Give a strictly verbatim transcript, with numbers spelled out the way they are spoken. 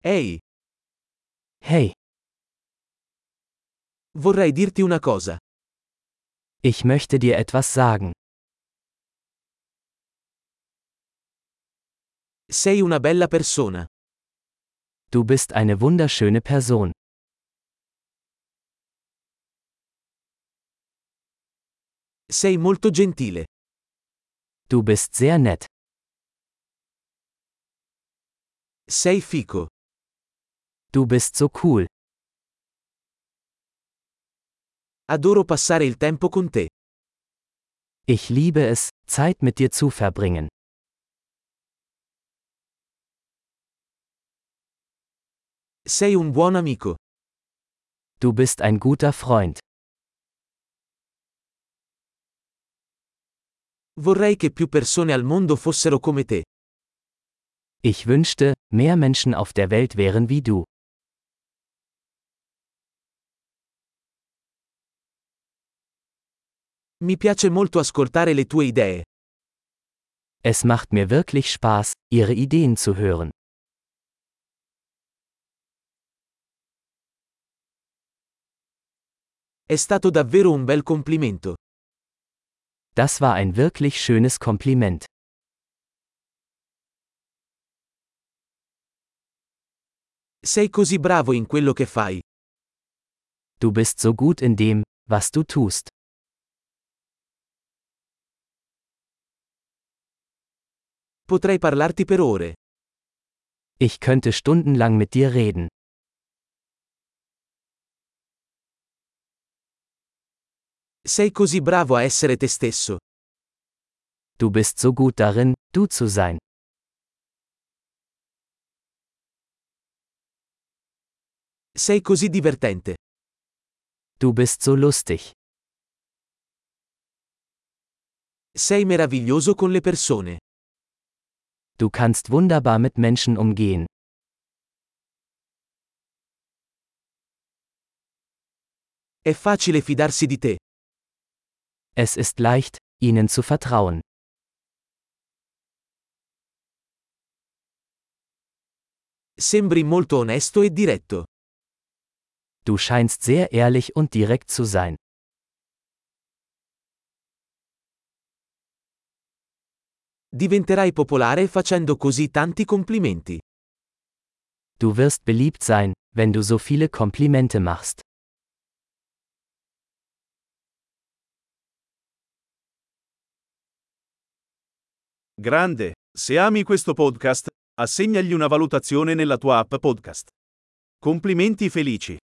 Ehi, Hey, vorrei dirti una cosa. ich möchte dir etwas sagen. Sei una bella persona. Du bist eine wunderschöne Person. Sei molto gentile. Du bist sehr nett. Sei fico. Du bist so cool. Adoro passare il tempo con te. Ich liebe es, Zeit mit dir zu verbringen. Sei un buon amico. Du bist ein guter Freund. Vorrei che più persone al mondo fossero come te. Ich wünschte, mehr Menschen auf der Welt wären wie du. Mi piace molto ascoltare le tue idee. Es macht mir wirklich Spaß, ihre Ideen zu hören. È stato davvero un bel complimento. Das war ein wirklich schönes Kompliment. Sei così bravo in quello che fai. Du bist so gut in dem, was du tust. Potrei parlarti per ore. Ich könnte stundenlang mit dir reden. Sei così bravo a essere te stesso. Du bist so gut darin, du zu sein. Sei così divertente. Du bist so lustig. Sei meraviglioso con le persone. Du kannst wunderbar mit Menschen umgehen. È facile fidarsi di te. Es ist leicht, ihnen zu vertrauen. Sembri molto onesto e diretto. Du scheinst sehr ehrlich und direkt zu sein. Diventerai popolare facendo così tanti complimenti. Du wirst beliebt sein, wenn du so viele Komplimente machst. Grande, se ami questo podcast, assegnagli una valutazione nella tua app podcast. Complimenti felici.